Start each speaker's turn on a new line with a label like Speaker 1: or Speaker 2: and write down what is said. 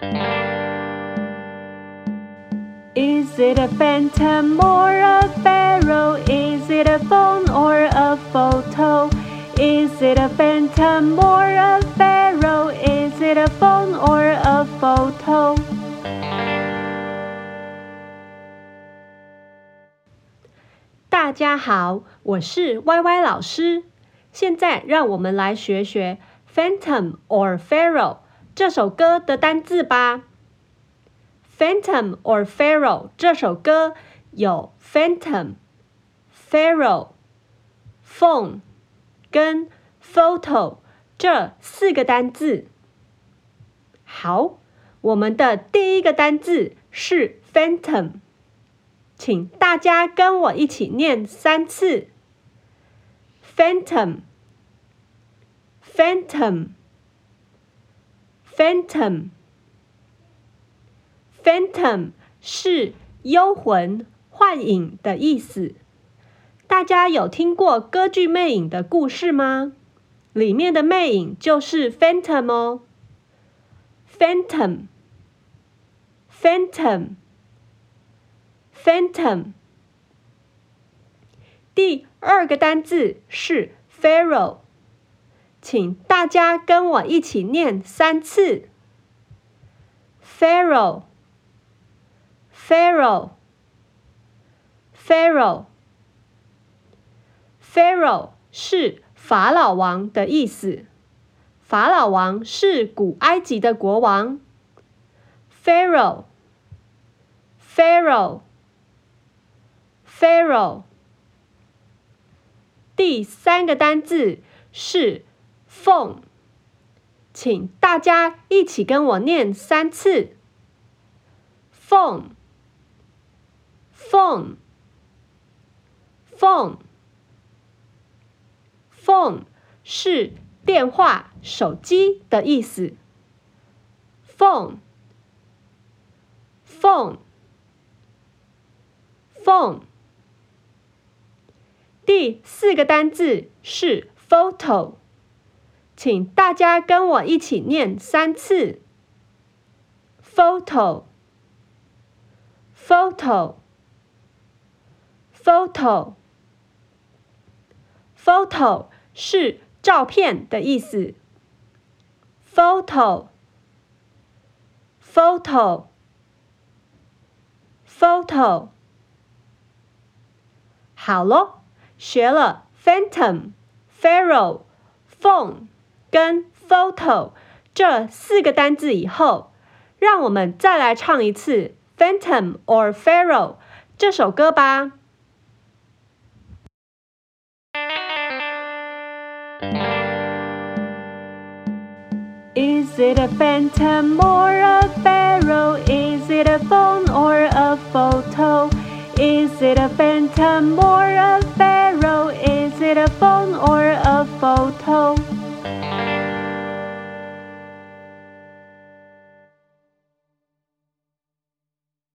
Speaker 1: Is it a phantom or a pharaoh? Is it a phone or a photo? Is it a phantom or a pharaoh? Is it a phone or a photo? 大家好，我是 YY 老師。現在讓我們來學學 Phantom or Pharaoh 這首歌的單字吧。Phantom or Pharaoh 這首歌有 Phantom、Pharaoh、Phone 跟 Photo 這4個單字。好，我們的第一個單字是 Phantom， 請大家跟我一起念3次。Phantom。Phantom 是幽魂、幻影的意思。大家有聽過歌劇魅影的故事嗎？裡面的魅影就是 Phantom 哦。Phantom。第2個單字是 Pharaoh， 請大家跟我一起念3次。Pharaoh。Pharaoh 是法老王的意思。法老王是古埃及的國王。Pharaoh。第3個單字是 Phone， 請大家一起跟我念3次。Phone。Phone 是電話、手機的意思。Phone。第4個單字是 Photo， 請大家跟我一起念3次。Photo。Photo 是照片的意思。Photo。好咯，學了 Phantom、Pharaoh、Phone 跟 Photo 這4個單字以後，讓我們再來唱一次 Phantom or Pharaoh 這首歌吧。Is it a phantom or a pharaoh? Is it a phone or a photo? Is it a phantom or a pharaoh? Is it a phone or a photo?